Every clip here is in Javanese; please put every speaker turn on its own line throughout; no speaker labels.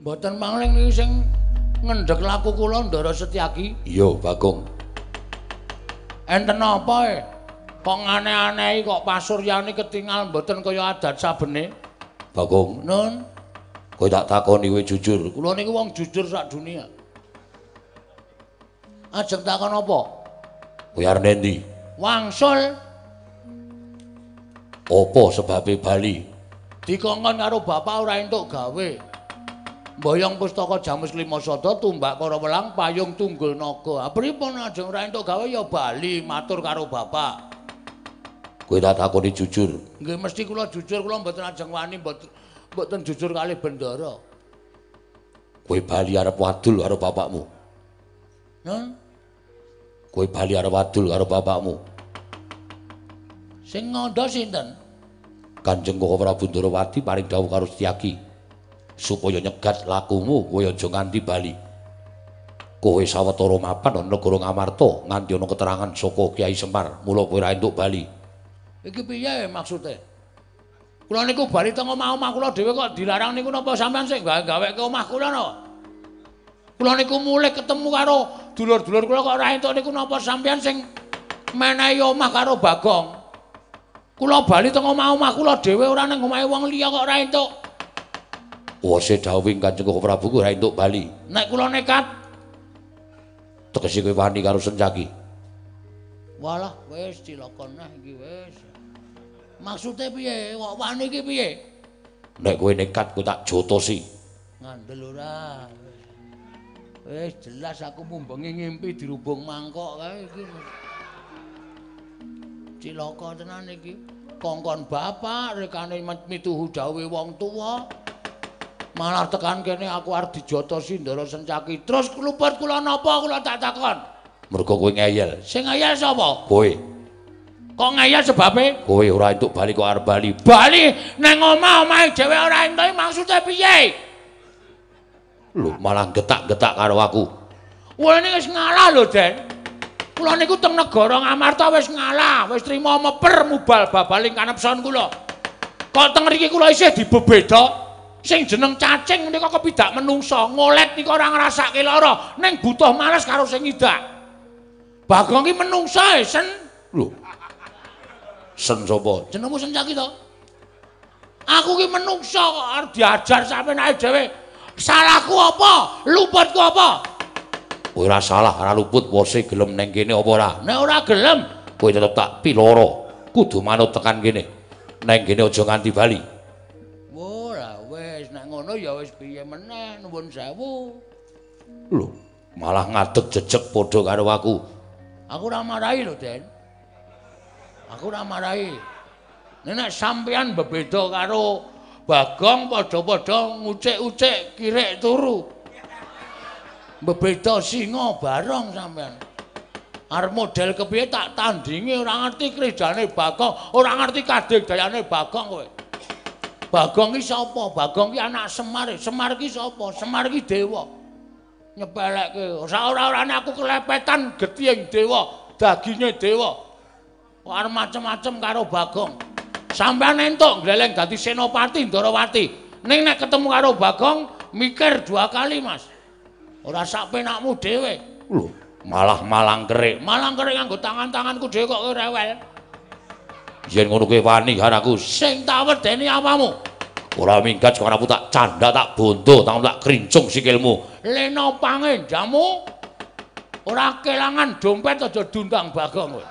Mboten mangling niki sing ngendhek laku kula Ndara Setyaki.
Iya, Bagong.
Enten apa e? Kok aneh-anehi kok pasuryane ketingal mboten kaya adat sabene.
Bagong,
Nun,
kowe tak takoni kowe jujur.
kula niku wong jujur sak dunia. Ajeng takon apa?
Kowe arep endi?
Wangsul
Apa sebabe bali?
dikongkon karo bapak ora entuk gawe. Mboyong pustaka Jamus Lima Sada tumbak para welang payung tunggul naga. Pripun ajeng ora entuk gawe ya bali matur karo bapak.
Kowe tak takoni jujur.
Nggih mesti kula jujur, kula mboten ajeng wani mboten jujur kalih Bendara.
Kowe bali arep wadul karo bapakmu.
Nun,
Kowe bali arep wadul karo bapakmu.
sing ngandha sinten?
Kanjeng Koko Prabu Ndarawati paring dawuh karo Setyaki supaya nyegat lakumu kowe aja nganti bali. Kowe sawetara mapan ana negara Ngamarta nganti ana keterangan saka Kyai Semar, mula kowe ora entuk bali.
Iki piye maksude? Kula niku bali teng omah-omah kula dhewe kok dilarang niku napa sampean sing gawe-gawe ke omah kula napa? Kula niku mulih ketemu karo dulur-dulur kula kok ora entuk niku napa sampean sing menehi omah karo Bagong. Kula bali teng omah-omah kula dhewe ora nang omahe wong liya kok ora entuk.
Wase dawuhing Kanjeng Koko Prabu kowe ora entuk bali.
Nek kula nekat,
Tegese kowe wani karo Setyaki.
walah wis cilaka neh iki wis. Maksude piye? Kok wani iki piye?
Nek kowe nekat kowe tak jotosi.
Ngandel ora. Wis jelas aku mumbengi ngimpi dirubung mangkok kae iki. Cilaka tenan iki. Kongkon bapak rekane mituhu dawuhe wong tuwa. Malah tekan kene aku arep dijotosi Ndara Setyaki. Terus kluput kula napa kula tak takon.
Mergo kowe ngeyel.
Sing ngayal sapa?
Kowe,
Kok ngayal sebabe?
kowe ora entuk bali kok arep bali.
Bali nang omah-omahe dhewe ora entuk maksude piye?
Lho, malah getak-getak karo aku.
Kula niki wis ngalah lho, Den. Kula niku teng negara Ngamarta wis ngalah, wis trima meper mubal babaling kanepson kula. Kok teng mriki kula isih dibebeda. Sing jeneng cacing menika kepidak menungsa, ngolet nika ora ngrasake lara, ning butuh males karo sing ngidak. Bagong ki menungsa sen.
Lho. Sen sapa?
Jenengmu Setyaki to? Aku ki menungsa kok arep diajar sampeyan ae dhewe. Salahku apa? Luputku apa?
Kowe ora salah, ora luput, wose gelem neng kene apa ora?
Nek ora gelem,
Kowe tetep tak piloro. Kudu manut tekan kene. Neng kene aja nganti bali.
ora wis nek ngono ya wis piye meneh nuwun sewu.
Lho, malah ngadeg jejeg padha karo aku.
Aku ora marahi lho, Den. Aku ora marahi. Nek sampeyan bebeda karo Bagong padha-padha ngucik-ucik kirek turu. Bebeda singa bareng sampeyan. Arep model kepiye tak tandingi ora ngerti krejane Bagong, ora ngerti kadegdayane Bagong kowe. Bagong ki sapa? Bagong ki anak Semar. Semar ki sapa? Semar ki dewa. Nyepelekke. Ora-orane aku kelepetan getihing dewa, daginge dewa. Kok arep macem-macem karo Bagong. Sampeyan entuk gleleng dadi Senopati Ndarawati. Ning nek ketemu karo Bagong mikir dua kali, Mas. Ora sak penakmu dhewe.
Lho, malah malangkerik.
Malangkerik nganggo tangan-tanganku dhewe kok kowe rewel.
Yen ngono kowe wani karo aku.
Sing tak wedeni apamu?
Ora minggat kok aku tak canda tak bondo, tak krincung sikilmu.
Lena pangenjamu ora kelangan dompet aja dundang Bagong kowe.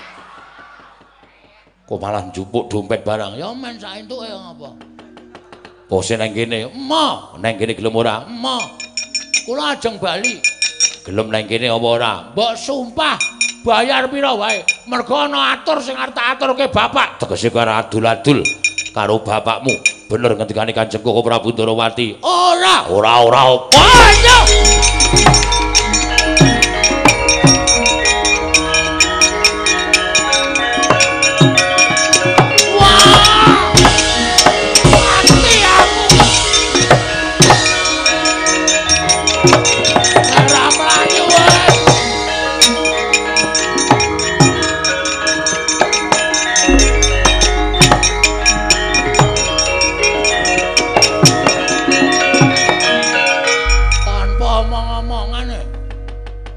Kok malah njupuk dompet barang.
Ya men sak entuke ngapa?
Bose nang kene.
Emoh,
Nang kene gelem ora?
emoh. Kula ajeng bali.
Gelem nang kene apa ora?
Mbok sumpah bayar pira wae. Mergo ana atur sing arep tak aturke bapak.
Tegese kowe ora adul-adul karo bapakmu. Bener ngendikane Kanjeng Koko Prabu Ndarawati.
Ora.
Ora apa.
Ayo.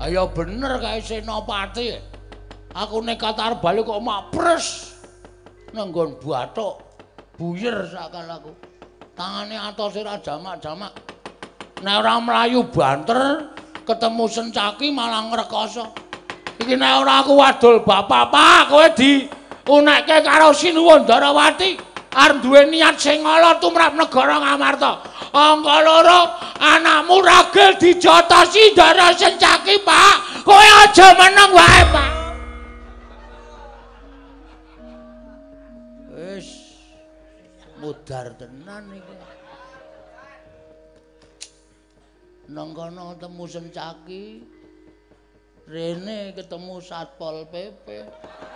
Ayo bener kae Senopati. Aku nekat arep bali kok mak pres. Nang nggon bathuk buyer sakal aku. Tangane atose ra jamak-jamak. Nek ora mlayu banter ketemu Sencaki malah ngrekoso. Iki nek ora aku wadul bapak-bapak kowe diunekke karo Sinuwun Darawati arep duwe niat sing ala tumrap negara Ngamarta. Angka loro anakmu ragil dijotosi Dara Sencaki, Pak. Kowe aja meneng wae, Pak. Wis mudar tenan iki. Nang kono ketemu Sencaki, rene ketemu Satpol PP.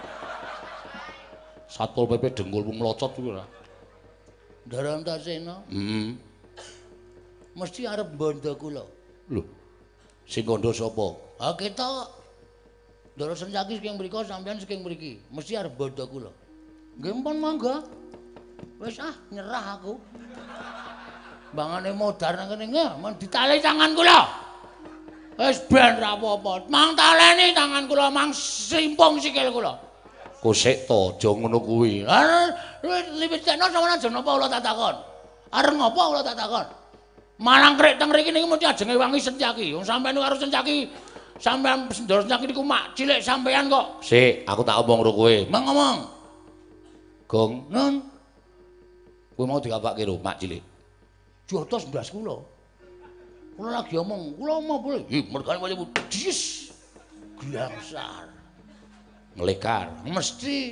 Satpol PP dengkulmu mlocot kuwi ora.
Ndara Antasena. Mesti arep bondo kula.
Lho. Sing kandha sapa?
Ha kita Ndara Sencaki saking mriko sampeyan saking mriki. Mesti arep bondo kula. Nggih mpun mangga. Wis nyerah aku. Bangane modar nang kene nggih, men ditali tangan kula. Wis ben ra apa-apa. Mang taleni tangan kula, mang simpung sikil kula.
Kosek to, aja ngono kuwi.
Lah liwitno sampeyan aja napa kula tak takon. Arep ngopo kula tak takon? Malang krek teng mriki niki mesti ajenge wangi Sencaki. Wong sampeyan karo Sencaki sampeyan Ndara Sencaki niku mak cilik sampeyan kok.
Sik, aku tak omong karo kowe.
Mang ngomong.
Gong,
Nun,
kowe mau dikapake lho mak cilik.
jotos mblas kula. Kula lagi omong, kula mau boleh. Mergane wae dis. Glangsar.
Nglekar.
Mesti.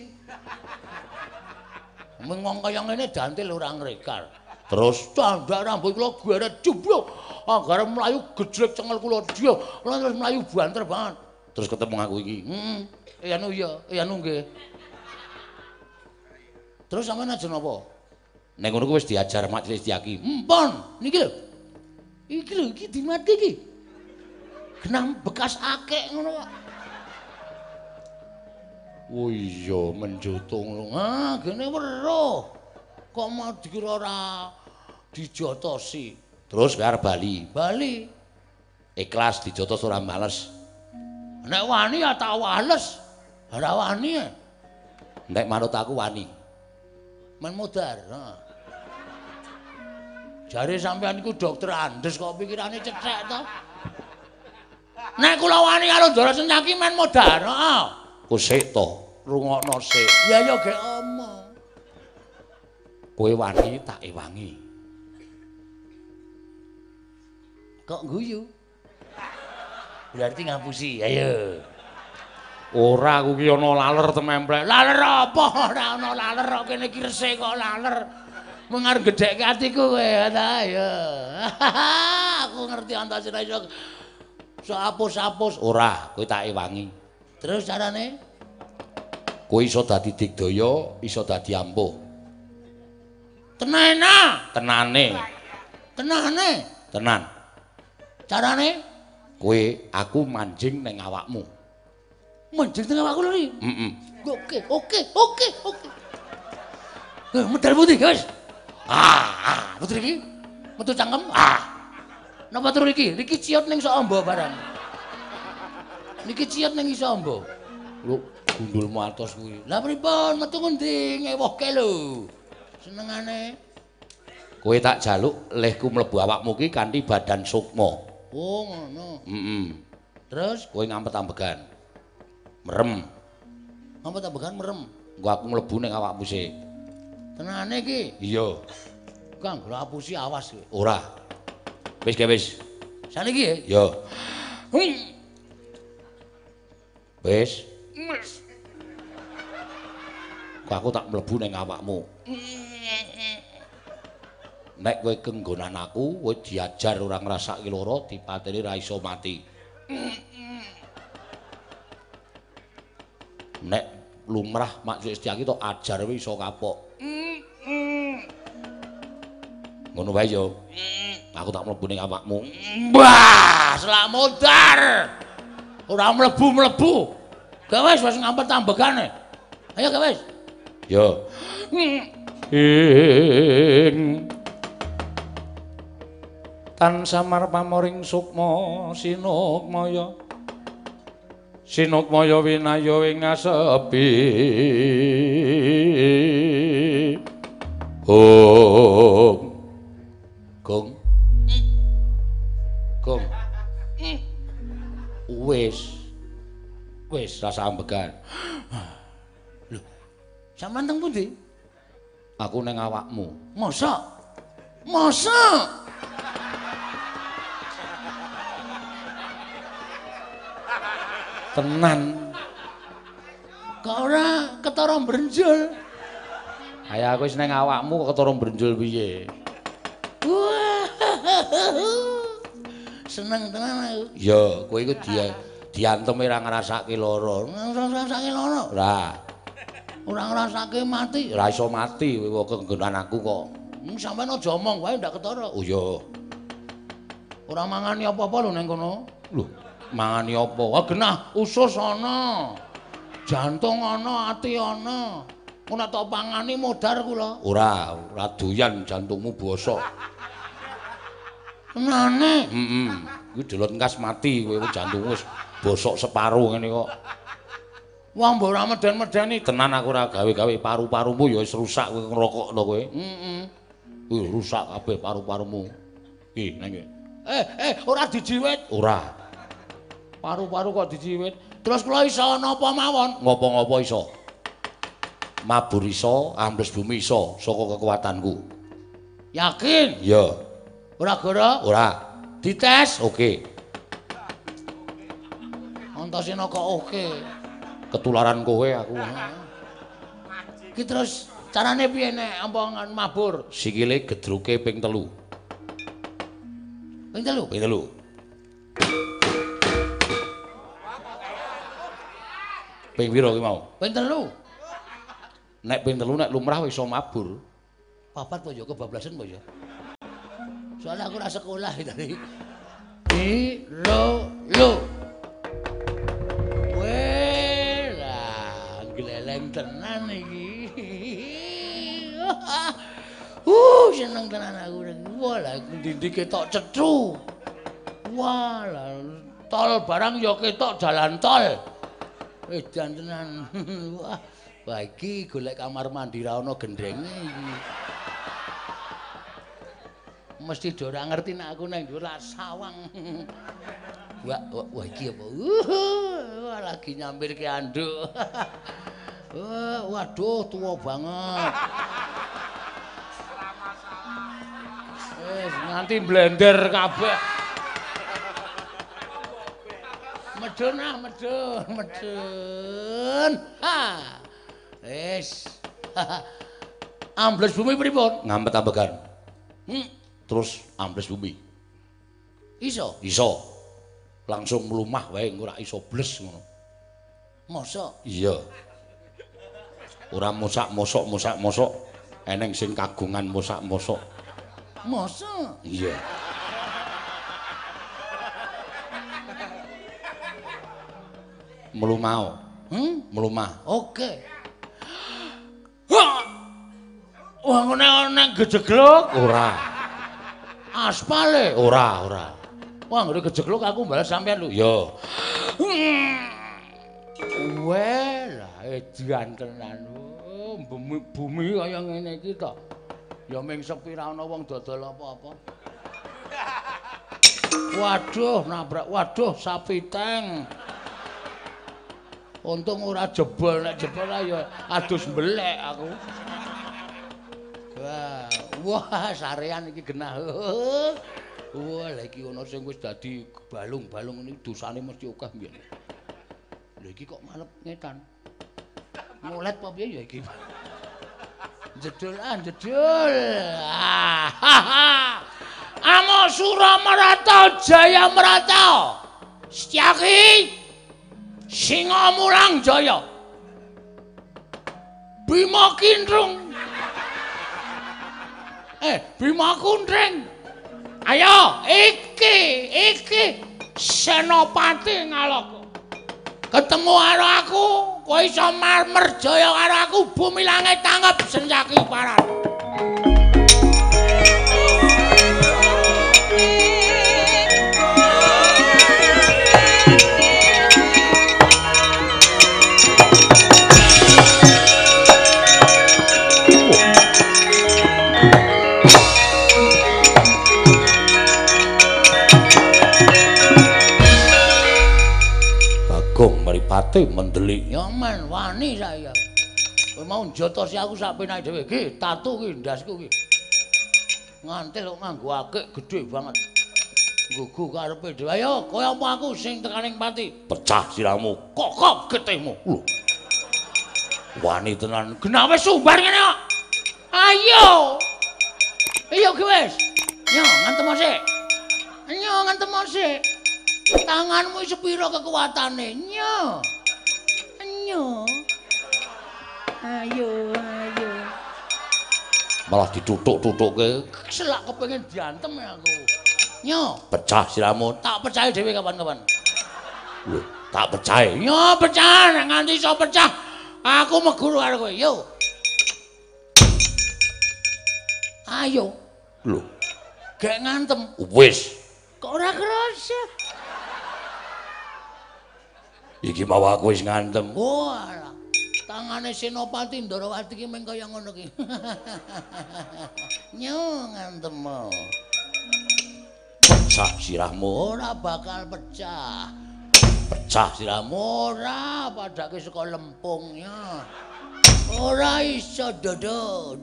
Mengong kaya ngene dantil ora ngrekar.
Terus
Tandak rambut kula gweret jubluk. Agar mlayu gejlek cengel kula dia. Terus mlayu banter banget.
terus ketemu aku iki.
Anu nggih. Terus sampean aja napa?
Nek ngono ku wis diajar Mak Cilik Setyaki.
Mpun, niki lho. Iki lho, iki dimati iki. Genang bekas akek ngono kok.
Oh iya, menjutung.
Gene weruh. Kok mau dikira ora dijotosi.
Terus arep bali.
Bali.
Ikhlas dijotos ora males.
Nek wani ya tak wales. Ora wani.
Nek manut aku wani.
Men modar. Jare sampean iku dokter Andes kok pikirane cethek to. Nek kula wani karo Ndara Sencaki men modar, heeh.
Ku sik to, rungokno sik.
Ya ya gek omong.
Kowe wani tak ewangi.
Kok guyu? Berarti ngapusi, ayo.
Ora aku ki ana laler tememplek.
Laler apa? Ora ana laler kok kene iki resik kok laler. Mengar gedhekke atiku kowe ta ayo. Aku ngerti Antasena iso apus-apus.
Ora, kowe tak ewangi.
Terus carane?
Kowe iso dadi digdaya, iso dadi ampuh.
Tenena.
Tenane.
Tenane.
Tenan.
Carane?
Kowe aku manjing ning awakmu.
Manjing teng awakku lho iki. Oke. Medal putih, guys. Putri iki. Metu cangkem. Napa turu iki? Niki ciot ning sok amba barang. Niki ciot ning iso amba.
Lho, gundulmu atos kuwi.
Lah pripun metu ngendi ngewohke lho. Senengane.
Kowe tak jaluk lehku mlebu awakmu ki kanthi badan sukma.
Oh, ngono. Terus
Kowe ngampet-ambegan. Merem.
Ngampet-ambegan merem.
Engko aku mlebu ning awakmu sik.
Tenane iki.
Iya.
Kang, lho apusi awas kowe.
Ora. Wis ge wis.
Saniki ya?
Ya. Wis. Kok aku tak mlebu ning awakmu. Nek kowe kenggonan aku, kowe diajar ora ngrasake lara, dipateni ra iso mati. Nek lumrah Mak Cilik Setyaki tok ajar kowe iso kapok. Ngono wae yo. Aku tak mlebu ning awakmu.
Wah, selak modar. Ora mlebu-mlebu. Gak wis ngampet tambegane. Ayo gak wis.
Yo. Tan samar pamoring sukma sinukmaya Sinukmaya winaya ing ngasepi Gong wis rasa ambegan.
Lho, sampean teng pundi?
Aku ning awakmu.
Mosok?
Tenan.
Kok ora ketara brenjol?
Ayo aku wis ning awakmu kok ketara brenjol piye?
Seneng tenan aku.
Ya, kowe iku dianteme ra ngrasake lara.
Ngrasake lara. Ora ngrasake mati.
Ora iso mati kowe kenggonan aku kok.
Sampeyan aja omong wae ndak ketara.
Oh iya.
Ora mangani apa-apa lho ning kono.
Lho, mangani apa?
Wah genah usus ana. Jantung ana, ati ana. Mun tak pangani modar kula.
Ora doyan jantungmu bosok.
Tenane?
Heeh. Kuwi delot engkas mati kowe jantungmu wis bosok separo ngene kok.
Wah mbok ora meden-medeni.
Tenan aku ora gawe-gawe paru-parumu ya wis rusak kowe ngerokok to kowe.
Heeh.
Rusak kabeh paru-parumu. Nang iki.
Ora dijiwit.
Ora.
Paru-paru kok dijiwit. Terus kula iso napa mawon?
Ngopo-ngopo iso. Mabur iso, ambles bumi iso saka kekuatanku.
Yakin?
Iya.
Ora goro?
Ora.
Dites?
Oke.
Antasena kok oke.
Ketularan kowe aku.
Ki terus carane piye nek ampongan mabur?
Sikile gedruke ping 3.
Ping 3?
Ping 3. Ping pira ki mau?
Ping 3.
Nek ping 3 nek lumrah wis iso mabur.
Papat po ya kebablasan po ya. Soalnya aku ora sekolah tadi. Lo. Weh, lah gleleng tenan iki. Seneng tenan aku. Wah, lah ndi ketok cethu. Wah, lah tol barang ya ketok jalan tol. Edan tenan. Wah, iki golek kamar mandi ra ono gendrenge iki. Mesti do ora ngerti nek aku nang dhuwur sawang. Wah iki apa? Wah lagi nyampirke anduk. Waduh tuwa banget. Nganti blender kabeh. Medun. Ha. Wis. Ambles bumi pripun?
Ngampet ambegan. Terus ambles bumi.
Iso?
Iso. Langsung mlumah wae ora iso bles ngono.
Mosok?
Iya. Ora mosak-mosok. Eneng sing kagungan mosak-mosok.
Mosok?
Iya. Mlumah. Mlumah.
Oke. Wah ngene gejegluk
Ora.
Aspale
Ora.
Wah ngene gejegluk aku balas sampean lho.
Yo.
Weh lah edan tenan. Bumi kaya ngene iki to. Ya ming sepi ra ana wong dodol apa-apa. Waduh nabrak. Waduh sapi teng. Untung ora jebol, nek jebol ya adus mbelek aku. Wah, sarean iki genah. Wah, lha iki ana sing wis dadi balung-balung ini dosane mesti akeh mbiyen. Lha iki kok malep ngetan. Ngolet apa piye ya iki? Jedul. Amo Suramarata Jaya Marata. Setyaki Singa Mulang Jaya. Bima Kindrung. Bima Kunring. Ayo, iki Senopati Ngalaka. Ketemu karo aku, kowe iso merjaya karo aku, bumi langit tanggap Setyaki Parat.
mripate mendelik.
Ya men wani saya. Kowe mau njotosi aku sak penake dhewe. Ki, tatu ki ndasku ki. Ngantil kok nganggo akik gedhe banget. Gugu karepe dhewe. Ayo, kaya apa aku sing tekaning pati.
Pecah siramu.
Kokop getihmu.
Lho. Wani tenan.
Genawe sumbar ngene kok. Ayo. Ayo ki wis. Yo, ngantem sik. Ayo ngantem sik. Tanganmu sepiro kekuatane? Nyo. Nyo. Ayo.
Malah ditutuk-tutukke.
Selak kepengin diantem aku. Nyo,
Pecah siramu.
tak percaya dhewe kapan-kapan.
Lho, tak percaya.
Yo pecah, nek nganti iso pecah, aku meguru karo kowe. Yo. Ayo,
Lho,
gek ngantem.
wis.
Kok ora kerasa?
Iki mau aku wis ngantem.
Oh, alah. Tangane Senopati Ndarawati ki meng kaya ngono ki. Nyo ngantem.
Pecah sirahmu.
Ora bakal pecah.
Pecah sirahmu.
Ora padake saka lempungnya. Ora iso dodo.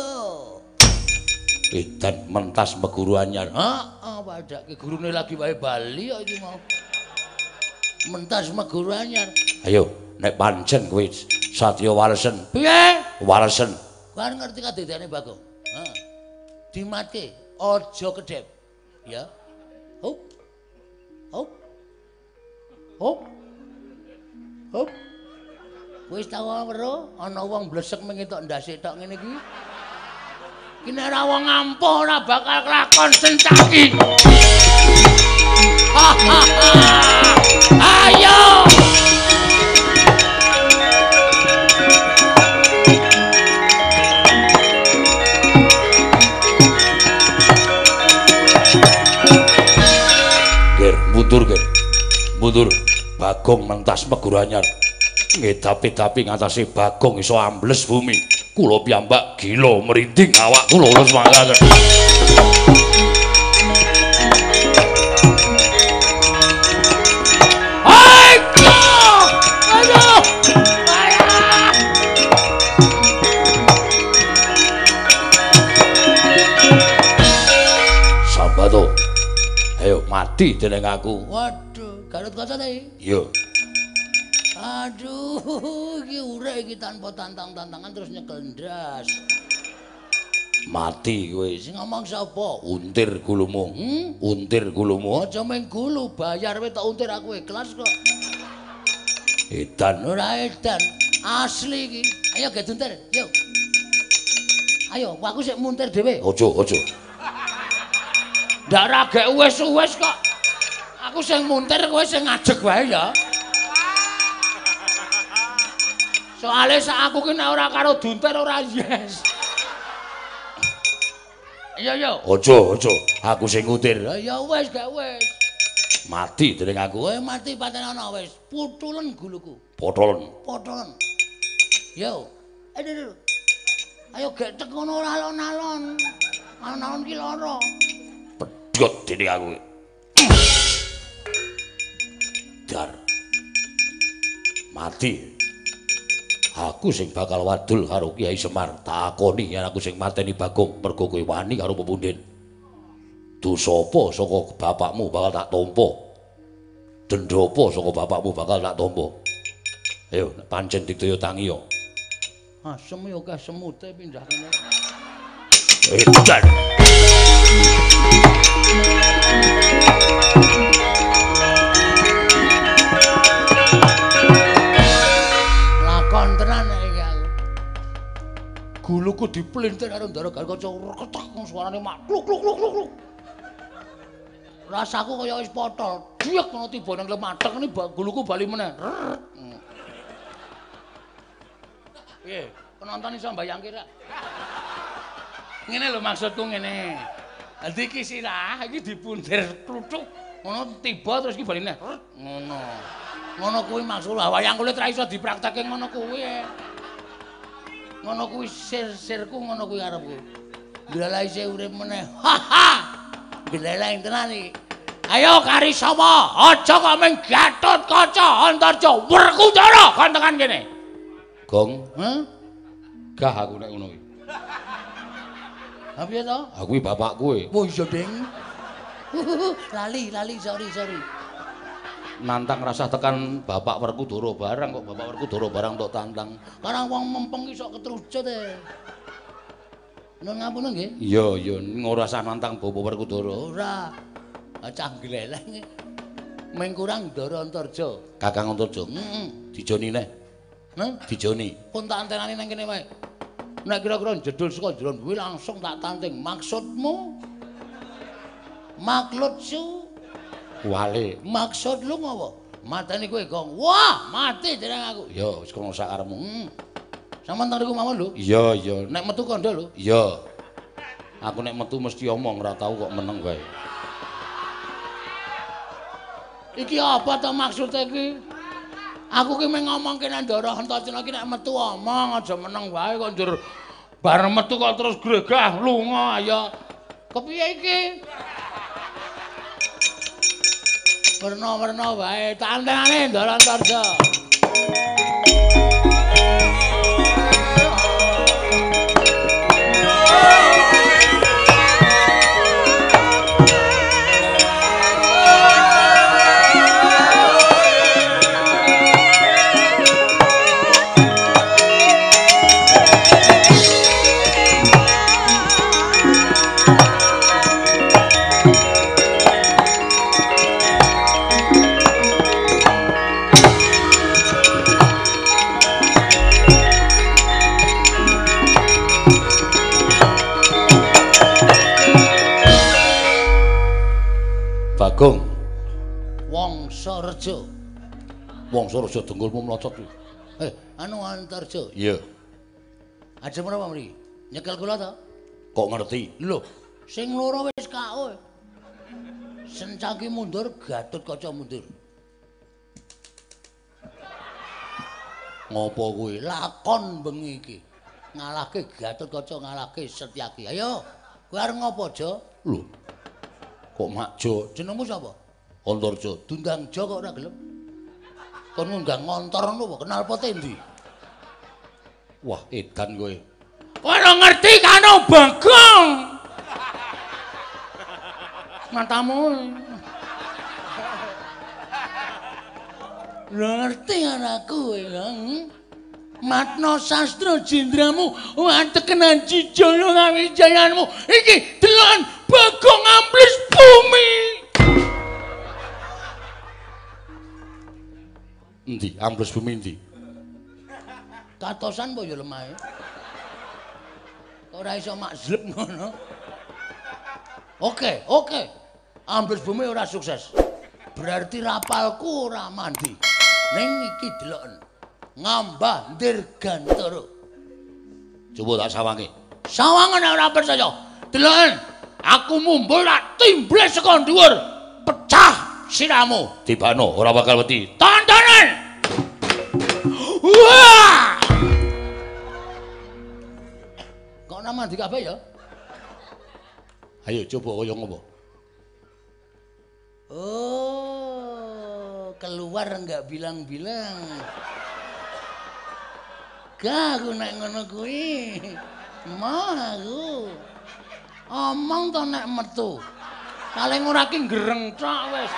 Edan mentas meguru anyar.
Heeh, padake gurune lagi wae bali kok iki mau. Mentas meguru anyar.
Ayo, nek pancen kowe Satya Walesen.
Piye?
Walesen.
Kan ngerti kadadane Bagong. Heeh. Dimatke, aja kedep. Ya. Hop. Wis tau weruh ana wong blesek mengetok ndase tok ngene iki. Ki nek ora wong ampuh ora bakal kelakon sencaki. Ayo.
Mundur. Bagong mentas meguru anyar. Ngedapi-dapi ngatasi Bagong iso ambles bumi. Kula piyambak gila merinding awak kula semangat. Sambato. Ayo mati dening aku.
Waduh, Garut kaca ta iki?
Iya.
Aduh, iki urek iki tanpa tantang-tantangan terus nyekel ndas.
Mati kowe.
Sing ngomong sapa?
Untir gulumu. Untir gulumu.
Aja meng gulu, bayar wae tak untir aku ikhlas kok.
Edan
Ora edan, asli iki. Ayo ge untir, yuk. Ayo, aku sik muntir dhewe.
Ojo.
Ndak ra gek wis kok. Aku sing muntir, kowe sing ngajeg wae ya. Soale sak aku ki nek ora karo duntir ora yes. Yo.
Ojo. Aku sing ngutir.
Ya wis, gak wis.
Mati dening aku.
Kowe mati paten ana wis. Putulen guluku.
Potolen.
Yo. Aduh. Ayo gek tek ngono ora alon-alon. Alon-alon ki lara.
Pedhot dening aku. Dar. Mati. Aku sing bakal wadul karo Kiai Semar. Takoni yen aku sing mateni Bagong mergo kowe wani karo pepundhen. Dosa apa saka bapakmu bakal tak tampa. Denda apa saka bapakmu bakal tak tampa. Ayo nek pancen dikdaya tangi yo.
Asem yo akeh semute pindah kene.
Edan.
Lakon tenan iki aku. Guluku diplintir karo ndara kaca ketek suarane mak kluk. Rasaku kaya wis potol. Diek ngono tiba nang lemathek ini guluku bali meneh. Piye? Penonton iso mbayangke ra? Ngene lho maksudku ngene. Dadi iki sirah iki dipuntir kluthuk ngono tiba terus iki bali meneh. Ngono. Ngono kuwi maksud wayang kulit ra iso dipraktekke ngono kuwi. Ngono kuwi sir-sirku ngono kuwi arepku. Ndalae isih urip meneh. Gleleng tenan iki. Ayo kari sapa? Aja kok mung Gatotkaca Antarja Werkudara gantengan kene.
Gong.
Hah?
Gah aku nek ngono iki.
Ha piye to?
Aku iki bapakku e.
Oh iya, Ding. Lali, sorry.
Nantang rasah tekan Bapak Werkudara barang kok Bapak Werkudara barang tok tantang.
Karang wong mempeng iso ketrucut e. Nun ngapura nggih?
Iya, ora usah nantang Bapak Werkudara.
Ora. Cah gleleng. Ming kurang Ndara Antarja.
Kakang Antarja. Dijoni neh.
Hah?
Dijoni.
Pun tak antenani nang kene wae. Nek kira-kira jedul saka jero kuwi langsung tak tanting. Maksudmu? Maklutsu?
Wale.
Maksud lu ngopo? Mateni kowe gong. Wah, mati jeneng aku.
Ya, wis kono sak karepmu.
Sampeyan tariku mawon lho.
Iya.
Nek metu kandha lho.
Iya. Aku nek metu mesti omong ora tau kok meneng wae.
Iki apa to maksude iki? Aku ki mung ngomongke nek Ndara Antarja iki nek metu omong aja meneng wae kok njur bar metu kok terus gregah lunga ya. Kepiye iki? Werna-werna wae tak antenane Ndara Antarja.
Bagong.
Wangsareja.
Wangsareja dengkulmu mlocot iki.
Anu Antarja.
Iya.
Ajeng menapa mriki? Nyekel kula to?
Kok ngerti?
Lho, sing loro wis KO. Sencaki mundur, Gatotkaca mundur. Ngopo kuwi? Lakon bengi iki. Ngalahke Gatotkaca, ngalahke Setyaki. Ayo, kowe arep ngopo, Jo?
Lho. Kok makjo?
Jenengmu sapa?
Antarja.
Dundang Jo kok ora gelem. Kon ngundang ngontor ngono apa kenal pote ndi?
Wah, edan kowe.
Kowe ora ngerti karo Bagong. Matamu. Ora ngerti anakku kowe, Matno sastra jendramu watekenan Jijaya ngawijayanmu iki delon Bagong Ambles Bumi.
Endi? Ambles Bumi endi?
Katosan apa ya lemahe? Kok ora iso makzleb ngono? Oke. Ambles Bumi ora sukses. Berarti rapalku ora mandi. Ning iki deloken. Ngambah Dirgantara.
Coba tak sawangi.
Sawangan ora percaya. Deloken. Aku mumbul tak timbles saka dhuwur. Pecah siramu.
Tibano ora bakal wedi.
Tontonan. Wah! Kok ora mandi kabeh ya?
Ayo coba kaya ngopo?
Oh, keluar enggak bilang-bilang. Gak aku nek ngono kuwi. Mau aku. Omong to nek metu. Paling ora ki gereng tok wis.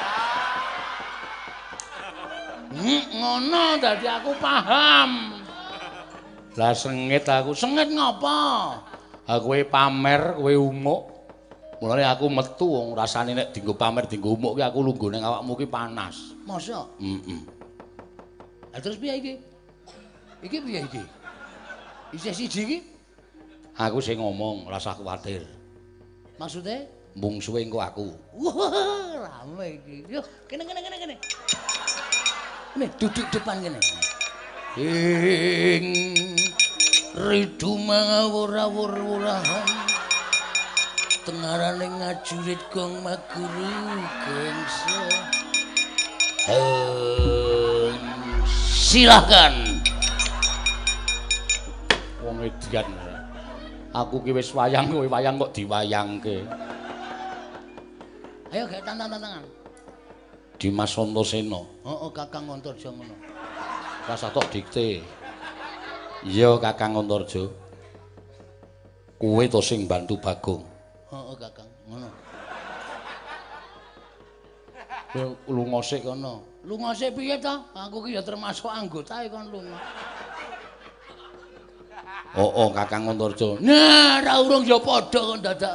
Ngono dadi aku paham.
Lah sengit aku.
Sengit ngopo?
Aku pamer, kowe umuk. Mulane aku metu wong rasane nek dienggo pamer, dienggo umuk ki aku lungguh ning awakmu ki panas.
Masa? Terus piye iki? Iki piye iki? Isih siji iki?
Aku sing ngomong, ora usah kuwatir.
Maksude?
Mungsuhe engko aku.
Wah, rame iki. Yo, kene. Nih, duduk depan kene. Ing ridu mangawur-awur-wurahan. Tengarane ngajurit gong maguru gengsa. Silakan.
Wong edian. Aku ki wis wayang, kowe wayang kok diwayangke.
Ayo gek tantang-tantangan.
Dimas Antasena.
Heeh, Kakang Antarja ngono.
Rasa tok dikte. Iya, Kakang Antarja. Kowe to sing bantu Bagong.
Heeh, Kakang, ngono.
Lunga sik kono.
Lunga sik piye to? Aku ki ya termasuk anggotae kon lunga.
Oh, Kakang Antarja.
Nah, ra urung ya padha kon dadak.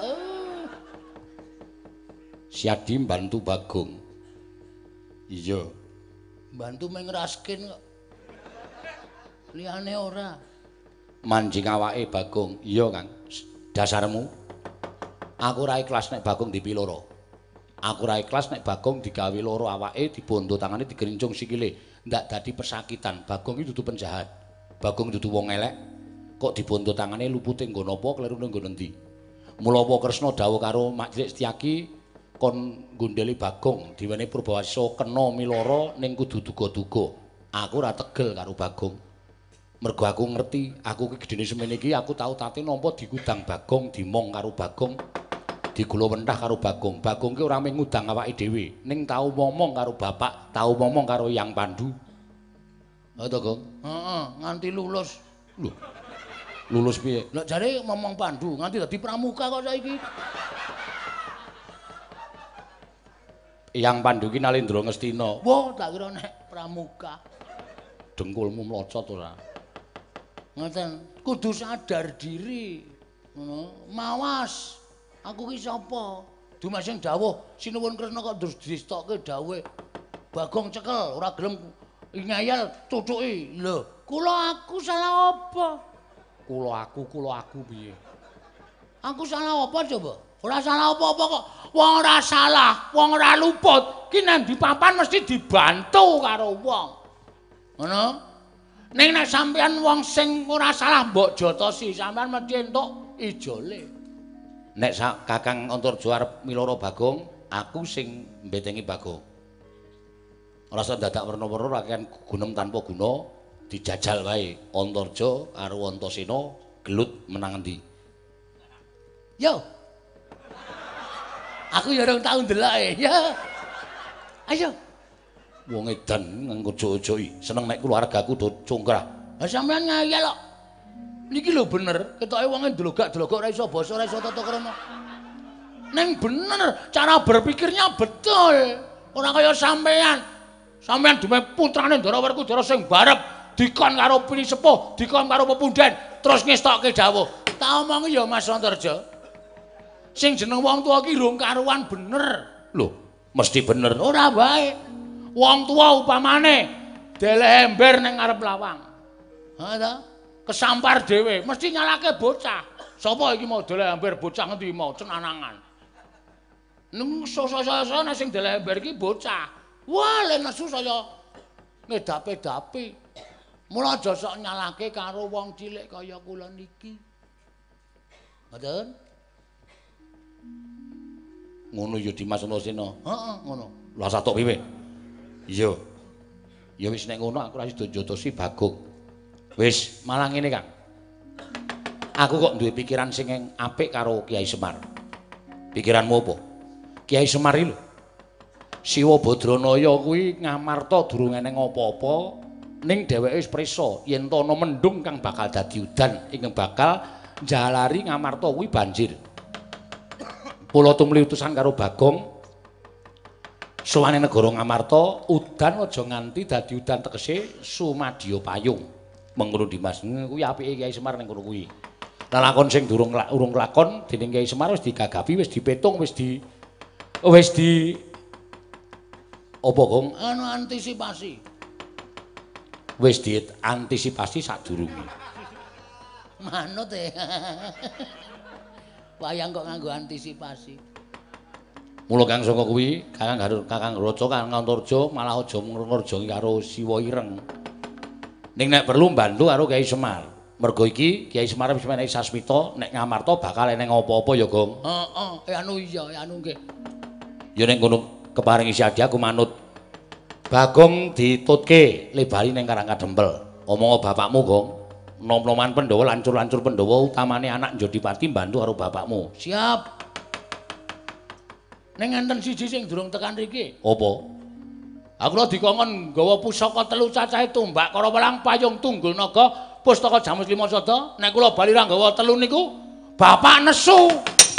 Siadi bantu Bagong. Iya.
Bantu meng raskin kok. Liyane ora.
Manjing awake Bagong. Iya, Kang. Dasarmu. Aku ora ikhlas nek Bagong dipiloro. Aku ora ikhlas nek Bagong digawe loro awake, dibondo tangane, digerincung sikile. Ndak dadi pesakitan. Bagong iki dudu penjahat. Bagong dudu wong elek. Kok dibondo tangane lupute nggo napa, klerune nggo endi. Mula Kresna dawuh karo Majelis Setyaki kon gondeli Bagong diwene Purbawasisa kena miloro ning kudu duga-duga. Aku ora tegel karo Bagong. Mergo aku ngerti, aku ki gedene semene iki aku tau tate nampa digudang Bagong, dimong karo Bagong, digula wentah karo Bagong. Bagong ki ora mung ngudang awake dhewe, ning tau ngomong karo bapak, tau ngomong karo Yang Pandu. Ha to, Gong?
Heeh, nganti lulus.
Lho. Lulus piye?
Lah jare ngomong Pandu nganti dadi pramuka kok saiki.
Yang Pandu ki Nalendra Ngastina.
Wah, tak kira nek pramuka.
Dengkulmu mlocot ora?
Ngoten, kudu sadar diri. Ngono, mawas. Aku ki sapa? Dimas sing dawuh Sinuwun Kresna kok terus distokke dawuhe. Bagong cekel, ora gelem ngayal cucuki. Lho, kula aku salah apa?
Kula aku piye?
Aku salah apa coba? Ora salah apa-apa kok. Wong ora salah, wong ora luput. Ki nang di papan mesti dibantu karo wong. Ngono? Ning nek sampeyan wong sing ora salah mbok jotosi, sampeyan mesti entuk ijole.
Nek Kakang Antarja arep miloro Bagong, aku sing mbetengi Bagong. Ora usah dadak werna-werna rakyat gunem tanpa guna, dijajal wae. Antarja karo Antasena gelut menang endi?
Yo. Aku ya urung tau ndeloke, ya. Ayo.
Wong edan nganggo jojo-joki, seneng nek keluargaku do congkrah.
Lah sampean ngayal kok. Niki lho bener, ketoke wonge delogak-delogok ora iso basa, ora iso tata krama. Ning bener, cara berpikirnya betul. Ora kaya sampean. Sampean dume putrane Ndara Werkudara sing barep dikon karo pini sepuh, dikon karo pepundhen, terus ngestokke dawuh. Tak omongi ya Mas Antarja. Sing jeneng wong tuwa ki rung karuan bener.
Lho, mesti bener.
Ora bae. Wong tuwa upamane deleh ember ning ngarep lawang. Ha ta? Kesampar dhewe mesti nyalake bocah. Sapa iki mau deleh ember bocah ngendi mau cenanangan. Neng so-so-so nek sing deleh ember iki bocah. Wah, le nesu saya ngedape-dape. Mula aja sok nyalake karo wong cilik kaya kula niki. Ngoten?
Ngono ya Dimas Antasena.
Heeh, ngono.
Lah satok piye? Iya. Ya wis nek ngono aku ora iso njotosi Bagong. Wis, malah ngene, Kang. Aku kok duwe pikiran sing apik karo Kiai Semar. Pikiranmu apa? Kiai Semar iki lho. Siwa Badranaya kuwi ngamarta durung eneng apa-apa, ning dheweke wis prisa yen to ana mendung kang bakal dadi udan ing bakal njalari ngamarta kuwi banjir. Kula tumli utusan karo Bagong sowane negara Ngamarta, udan aja nganti dadi udan tegese sumadya payung. Mengkono Dimas, kuwi apike Kiai Semar ning kono kuwi. Lakon sing durung urung lakon dening Kiai Semar wis digagapi, wis dipetung, wis di apa, Gong?
Anu antisipasi.
Wis diantisipasi sadurunge.
Manut e. Wayang kok nganggo antisipasi.
Mula Kang saka kuwi, Kakang Raja, Kakang Antarja malah aja ngrorjoki karo Siwa Ireng. Ning nek perlu bantu karo Kiai Semar. Mergo iki Kiai Semar wis menehi sasmita nek Ngamarta bakal eneng apa-apa ya, Gong.
Heeh, anu iya, anu nggih.
Ya ning kono keparing isi adi aku manut. Bagong ditutke lebali ning Karang Kadempel. Omong bapakmu, Gong. Nom-noman Pandhawa, lancur-lancur Pandhawa utamane anak Njodipati bantu karo bapakmu.
Siap. Ning enten siji sing durung tekan riki.
Apa?
Aku lho dikongkon nggawa pusaka telu cacahe tumbak karo welang payung tunggul naga pustaka Jamus Lima Sada. Nek kula bali ra nggawa telu niku bapak nesu.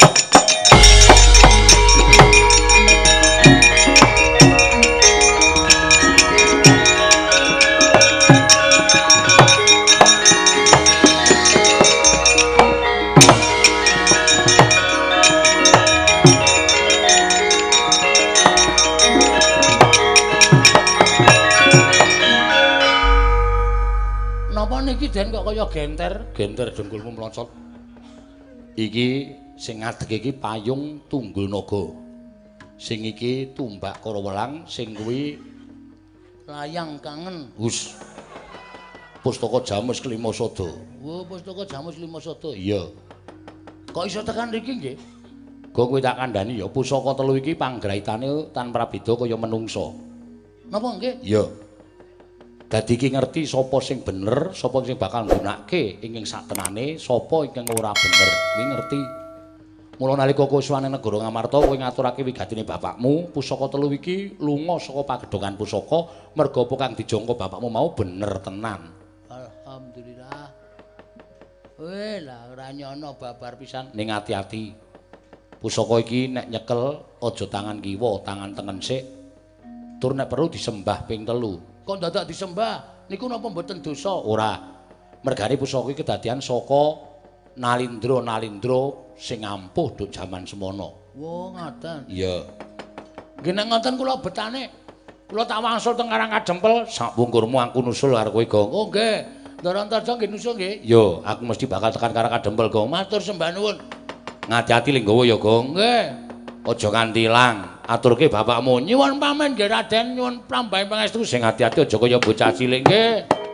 Niki den kok kaya genter dengkulmu mlonsot. Iki sing ngadeg iki payung tunggul naga. Sing iki tumbak karo welang, sing kuwi layang kangen. Hus. Pustaka Jamus Lima Sada. Oh, pustaka Jamus Lima Sada. Iya. Kok iso tekan mriki nggih? Go kowe tak kandhani ya pusaka telu iki panggraitane tan prabeda kaya menungsa. Napa nggih? Iya. Dadi iki ngerti sapa sing bener, sapa sing bakal nggunakake ing satenane, sapa ingkang ora bener. Kuwi ngerti. Mula nalika kowe suwane negara Ngamarta, kowe ngaturake wigatine bapakmu, pusaka telu iki lunga saka pagedhongan pusaka, merga apa kang dijangka bapakmu mau bener tenan. Alhamdulillah. Weh, lah ora nyono babar pisan. Ning ati-ati. Pusaka iki nek nyekel aja tangan kiwa, tangan tengen sik. Tur nek perlu disembah ping 3. Kok dadak disembah? Niku napa mboten dosa? Ora. Mergane pusaka iki kedadian saka nalindra sing ampuh duk jaman semono. Wo, ngoten. Iya. Nggih nek ngoten kula betane. Kula tak wangsul teng Karang Kadempel, sak wungkurmu aku nusul karo kowe, Gong. Oh, nggih. Ndara Antarja nggih nusul nggih. Yo, aku mesti bakal tekan Karang Kadempel, Gong. Matur sembah nuwun. Ngati-ati ling nggawa ya, Gong. Nggih. Aja nganti ilang. Aturke bapakmu nyuwun pamit nggih Raden, nyuwun prambahe pangestu sing ati-ati aja kaya bocah cilik nggih.